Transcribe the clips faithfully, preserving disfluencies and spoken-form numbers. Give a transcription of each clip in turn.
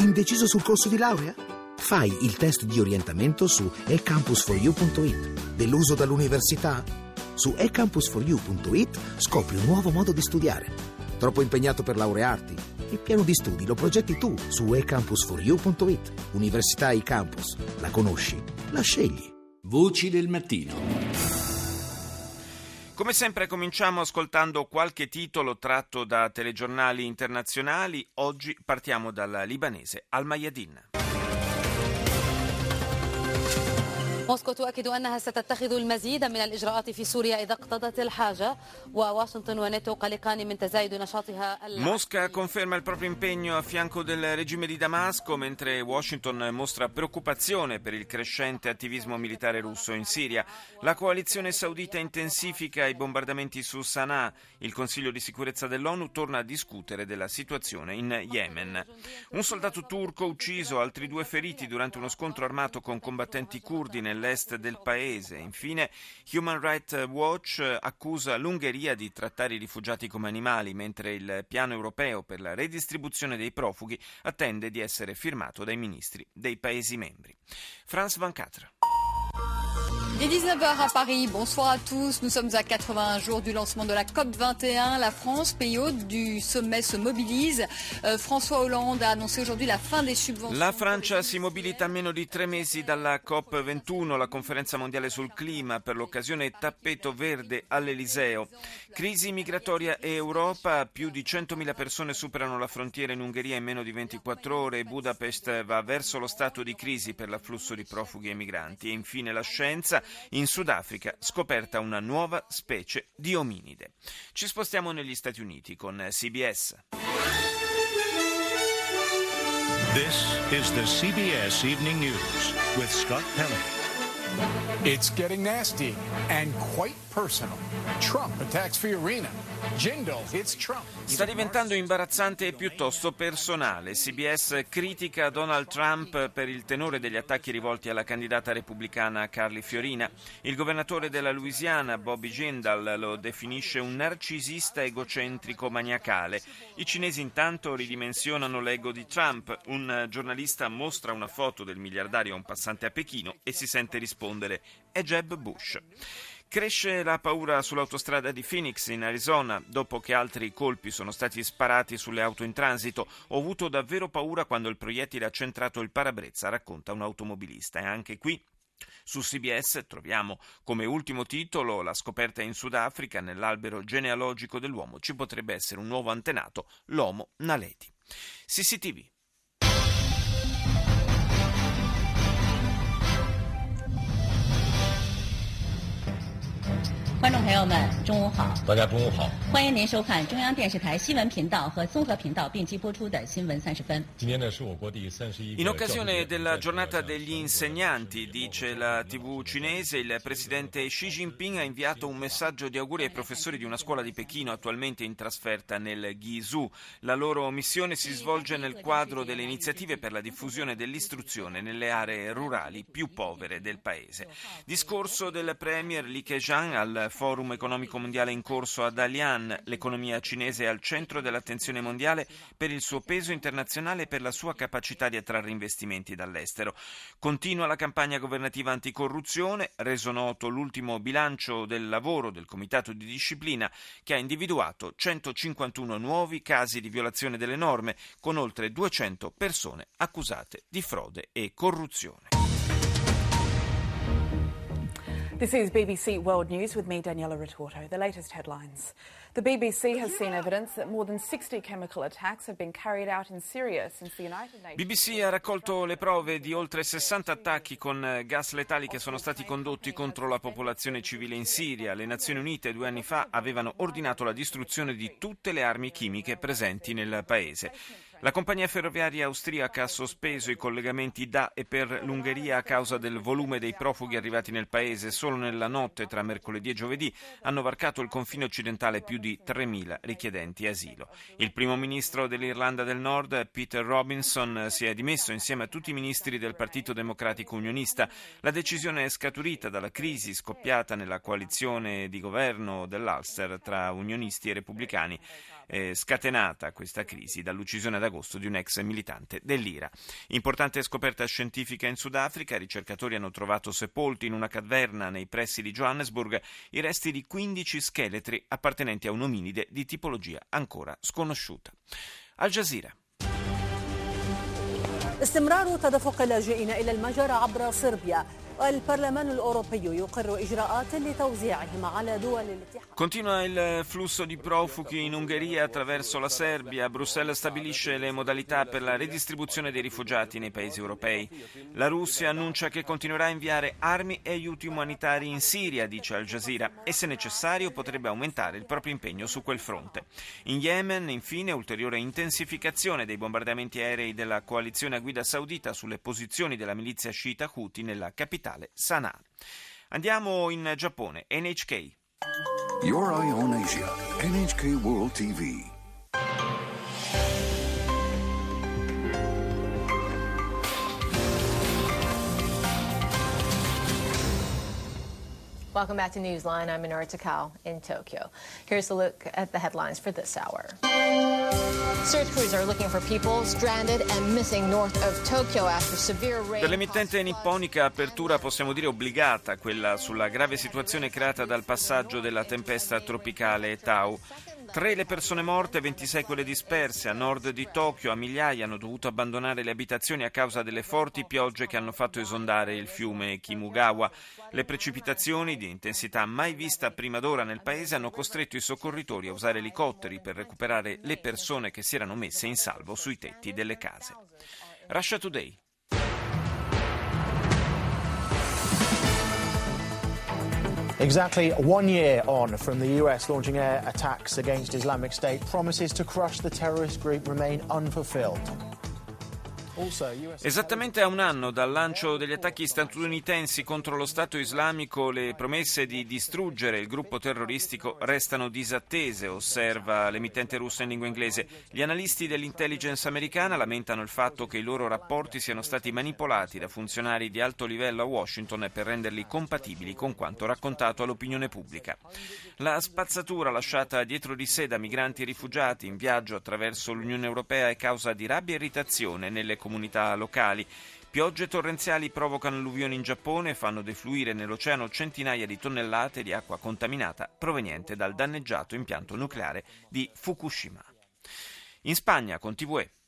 Indeciso sul corso di laurea? Fai il test di orientamento su e campus for you punto it. Deluso dall'università? Su e campus for you punto it scopri un nuovo modo di studiare. Troppo impegnato per laurearti? Il piano di studi lo progetti tu su e campus for you punto it. Università eCampus. La conosci? La scegli. Voci del mattino. Come sempre cominciamo ascoltando qualche titolo tratto da telegiornali internazionali. Oggi partiamo dalla libanese Al Mayadeen. موسكو تؤكد أنها ستتخذ المزيد من الإجراءات في سوريا إذا اقتضت الحاجة وواشنطن وناتو قلقان من تزايد نشاطها. Mosca conferma il proprio impegno a fianco del regime di Damasco, mentre Washington mostra preoccupazione per il crescente attivismo militare russo in Siria. La coalizione saudita intensifica i bombardamenti su Sana'a. Il Consiglio di sicurezza dell'ONU torna a discutere della situazione in Yemen. Un soldato turco ucciso, altri due feriti durante uno scontro armato con combattenti curdi nel l'est del paese. Infine, Human Rights Watch accusa l'Ungheria di trattare i rifugiati come animali, mentre il piano europeo per la redistribuzione dei profughi attende di essere firmato dai ministri dei Paesi membri. Franz Van Catra. Il est dix-neuf heures à Paris, bonsoir à tous. Nous sommes à quatre-vingt-un jours du lancement de la COP vingt et un. La France, pays hôte du sommet, se mobilise. Euh, François Hollande a annoncé aujourd'hui la fin des subventions. La Francia si mobilita a meno di tre mesi dalla COP ventuno, la conferenza mondiale sul clima, per l'occasione tappeto verde all'Eliseo. Crisi migratoria e Europa, più di centomila persone superano la frontiera in Ungheria in meno di ventiquattro ore. Budapest va verso lo stato di crisi per l'afflusso di profughi e migranti. E infine la scienza. In Sudafrica scoperta una nuova specie di ominide. Ci spostiamo negli Stati Uniti con C B S. This is the C B S Evening News with Scott Pelley. It's getting nasty and quite personal. Trump attacks Fiorina. Jindal hits Trump. Sta diventando imbarazzante e piuttosto personale. C B S critica Donald Trump per il tenore degli attacchi rivolti alla candidata repubblicana Carly Fiorina. Il governatore della Louisiana, Bobby Jindal, lo definisce un narcisista egocentrico maniacale. I cinesi intanto ridimensionano l'ego di Trump. Un giornalista mostra una foto del miliardario a un passante a Pechino e si sente rispondere: è Jeb Bush. Cresce la paura sull'autostrada di Phoenix in Arizona dopo che altri colpi sono stati sparati sulle auto in transito. Ho avuto davvero paura quando il proiettile ha centrato il parabrezza, racconta un automobilista. E anche qui su C B S troviamo come ultimo titolo la scoperta in Sudafrica: nell'albero genealogico dell'uomo ci potrebbe essere un nuovo antenato, l'Homo naledi. C C T V. In occasione della giornata degli insegnanti, dice la tivù cinese, il presidente Xi Jinping ha inviato un messaggio di auguri ai professori di una scuola di Pechino attualmente in trasferta nel Guizhou. La loro missione si svolge nel quadro delle iniziative per la diffusione dell'istruzione nelle aree rurali più povere del paese. Discorso del premier Li Keqiang al Forum economico mondiale in corso a Dalian. L'economia cinese è al centro dell'attenzione mondiale per il suo peso internazionale e per la sua capacità di attrarre investimenti dall'estero. Continua la campagna governativa anticorruzione, reso noto l'ultimo bilancio del lavoro del Comitato di Disciplina, che ha individuato centocinquantuno nuovi casi di violazione delle norme, con oltre duecento persone accusate di frode e corruzione. This is B B C World News with me, Daniela Retorto. The latest headlines. The B B C has seen evidence that more than sixty chemical attacks have been carried out in Syria since the United Nations. B B C ha raccolto le prove di oltre sessanta attacchi con gas letali che sono stati condotti contro la popolazione civile in Siria. Le Nazioni Unite due anni fa avevano ordinato la distruzione di tutte le armi chimiche presenti nel paese. La compagnia ferroviaria austriaca ha sospeso i collegamenti da e per l'Ungheria a causa del volume dei profughi arrivati nel paese. Solo nella notte tra mercoledì e giovedì hanno varcato il confine occidentale più di tremila richiedenti asilo. Il primo ministro dell'Irlanda del Nord, Peter Robinson, si è dimesso insieme a tutti i ministri del Partito Democratico Unionista. La decisione è scaturita dalla crisi scoppiata nella coalizione di governo dell'Ulster tra unionisti e repubblicani, eh, scatenata questa crisi dall'uccisione ad agosto di un ex militante dell'I R A. Importante scoperta scientifica in Sudafrica, i ricercatori hanno trovato sepolti in una caverna nei pressi di Johannesburg i resti di quindici scheletri appartenenti a un ominide di tipologia ancora sconosciuta. Al Jazeera. استمرار تدفق اللاجئين إلى المجر عبر صربيا. البرلمان الأوروبي يقر إجراءات لتوزيعهم على دول الاتحاد. Continua il flusso di profughi in Ungheria attraverso la Serbia. Bruxelles stabilisce le modalità per la redistribuzione dei rifugiati nei paesi europei. La Russia annuncia che continuerà a inviare armi e aiuti umanitari in Siria, dice Al Jazeera, e se necessario potrebbe aumentare il proprio impegno su quel fronte. In Yemen, infine, ulteriore intensificazione dei bombardamenti aerei della coalizione a guida saudita sulle posizioni della milizia sciita Houthi nella capitale Sana'a. Andiamo in Giappone. N H K. Your Eye on Asia. N H K World T V. Welcome back to Newsline. I'm Minoru Takao in Tokyo. Here's a look at the headlines for this hour. Search crews are looking for people stranded and missing north of Tokyo after severe rain. Per l'emittente nipponica apertura possiamo dire obbligata, quella sulla grave situazione creata dal passaggio della tempesta tropicale Tau. Tre le persone morte, ventisei quelle disperse. A nord di Tokyo a migliaia hanno dovuto abbandonare le abitazioni a causa delle forti piogge che hanno fatto esondare il fiume Kimugawa. Le precipitazioni di intensità mai vista prima d'ora nel paese hanno costretto i soccorritori a usare elicotteri per recuperare le persone che si erano messe in salvo sui tetti delle case. Russia Today. Exactly one year on from the U S launching air attacks against Islamic State, promises to crush the terrorist group remain unfulfilled. Esattamente a un anno dal lancio degli attacchi statunitensi contro lo Stato islamico, le promesse di distruggere il gruppo terroristico restano disattese, osserva l'emittente russa in lingua inglese. Gli analisti dell'intelligence americana lamentano il fatto che i loro rapporti siano stati manipolati da funzionari di alto livello a Washington per renderli compatibili con quanto raccontato all'opinione pubblica. La spazzatura lasciata dietro di sé da migranti e rifugiati in viaggio attraverso l'Unione Europea è causa di rabbia e irritazione nelle comunità locali. Piogge torrenziali provocano alluvioni in Giappone e fanno defluire nell'oceano centinaia di tonnellate di acqua contaminata proveniente dal danneggiato impianto nucleare di Fukushima. In Spagna, con T V E.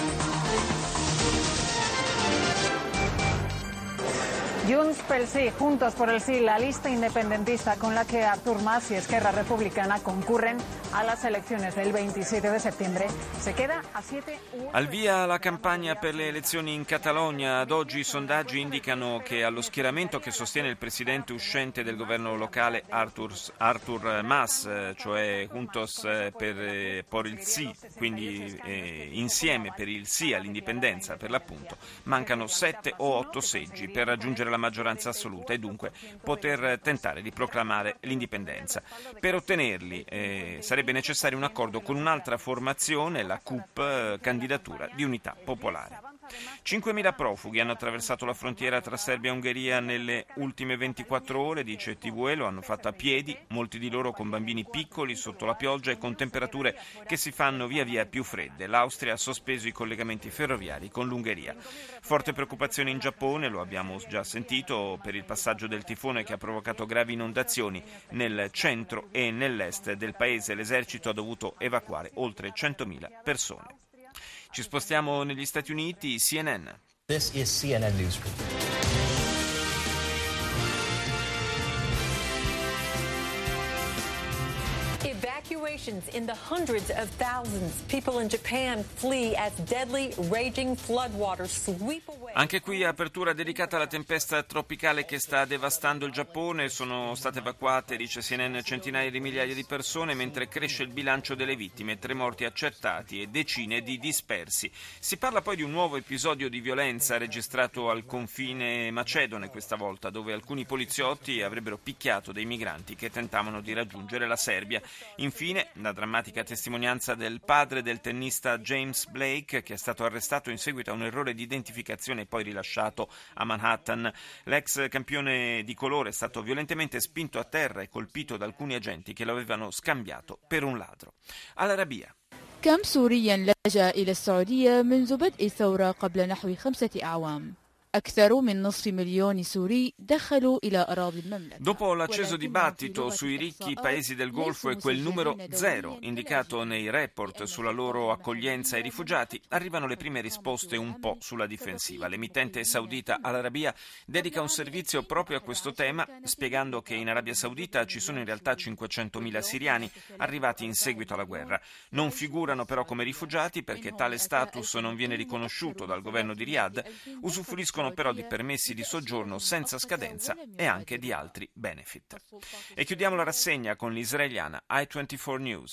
Junts pel Sí, Juntos por el Sí, la lista independentista con la que Artur Mas y Esquerra Republicana concurren a las elecciones del veintisiete de septiembre, se queda a siete u Al via la campagna per le elezioni in Catalogna. Ad oggi i sondaggi indicano che allo schieramento che sostiene il presidente uscente del governo locale Artur, Artur Mas, cioè Juntos per, por il Sí, quindi eh, insieme per il sì all'indipendenza per l'appunto, mancano sette o otto seggi per raggiungere la maggioranza assoluta e dunque poter tentare di proclamare l'indipendenza. Per ottenerli eh, sarebbe necessario un accordo con un'altra formazione, la C U P, eh, candidatura di unità popolare. cinquemila profughi hanno attraversato la frontiera tra Serbia e Ungheria nelle ultime ventiquattro ore, dice T V E, lo hanno fatto a piedi, molti di loro con bambini piccoli sotto la pioggia e con temperature che si fanno via via più fredde. L'Austria ha sospeso i collegamenti ferroviari con l'Ungheria. Forte preoccupazione in Giappone, lo abbiamo già sentito, per il passaggio del tifone che ha provocato gravi inondazioni nel centro e nell'est del paese. L'esercito ha dovuto evacuare oltre centomila persone. Ci spostiamo negli Stati Uniti, C N N. This is C N N Newsroom. Evacuations in the hundreds of thousands. People in Japan flee as deadly, raging floodwaters sweep away. Anche qui apertura dedicata alla tempesta tropicale che sta devastando il Giappone. Sono state evacuate, dice C N N, centinaia di migliaia di persone, mentre cresce il bilancio delle vittime, tre morti accertati e decine di dispersi. Si parla poi di un nuovo episodio di violenza registrato al confine macedone questa volta, dove alcuni poliziotti avrebbero picchiato dei migranti che tentavano di raggiungere la Serbia. Infine, la drammatica testimonianza del padre del tennista James Blake, che è stato arrestato in seguito a un errore di identificazione e poi rilasciato a Manhattan. L'ex campione di colore è stato violentemente spinto a terra e colpito da alcuni agenti che lo avevano scambiato per un ladro. Al-Arabiya. كم سوري لجأ إلى السعودية منذ بدء الثورة قبل نحو خمسة أعوام. أكثر من نصف مليون سوري دخلوا إلى أراضي المملكة. Dopo l'acceso dibattito sui ricchi paesi del Golfo e quel numero zero indicato nei report sulla loro accoglienza ai rifugiati, arrivano le prime risposte un po' sulla difensiva. L'emittente saudita Al Arabiya dedica un servizio proprio a questo tema, spiegando che in Arabia Saudita ci sono in realtà cinquecentomila siriani arrivati in seguito alla guerra. Non figurano però come rifugiati perché tale status non viene riconosciuto dal governo di Riyadh, usufruiscono però di permessi di soggiorno senza scadenza e anche di altri benefit. E chiudiamo la rassegna con l'israeliana I ventiquattro News.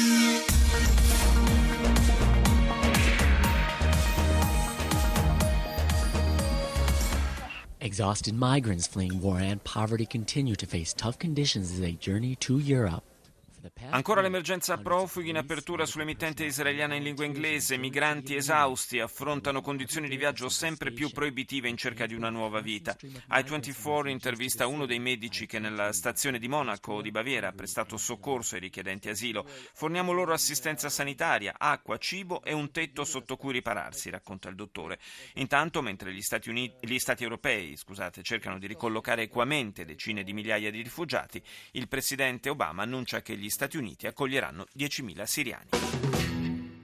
Exhausted migrants fleeing war and poverty continue to face tough conditions as they journey to Europe. Ancora l'emergenza profughi in apertura sull'emittente israeliana in lingua inglese. Migranti esausti affrontano condizioni di viaggio sempre più proibitive in cerca di una nuova vita. I ventiquattro intervista uno dei medici che nella stazione di Monaco di Baviera ha prestato soccorso ai richiedenti asilo. Forniamo loro assistenza sanitaria, acqua, cibo e un tetto sotto cui ripararsi, racconta il dottore. Intanto, mentre gli Stati Uniti, gli Stati europei scusate, cercano di ricollocare equamente decine di migliaia di rifugiati, il presidente Obama annuncia che gli Stati Uniti accoglieranno diecimila siriani.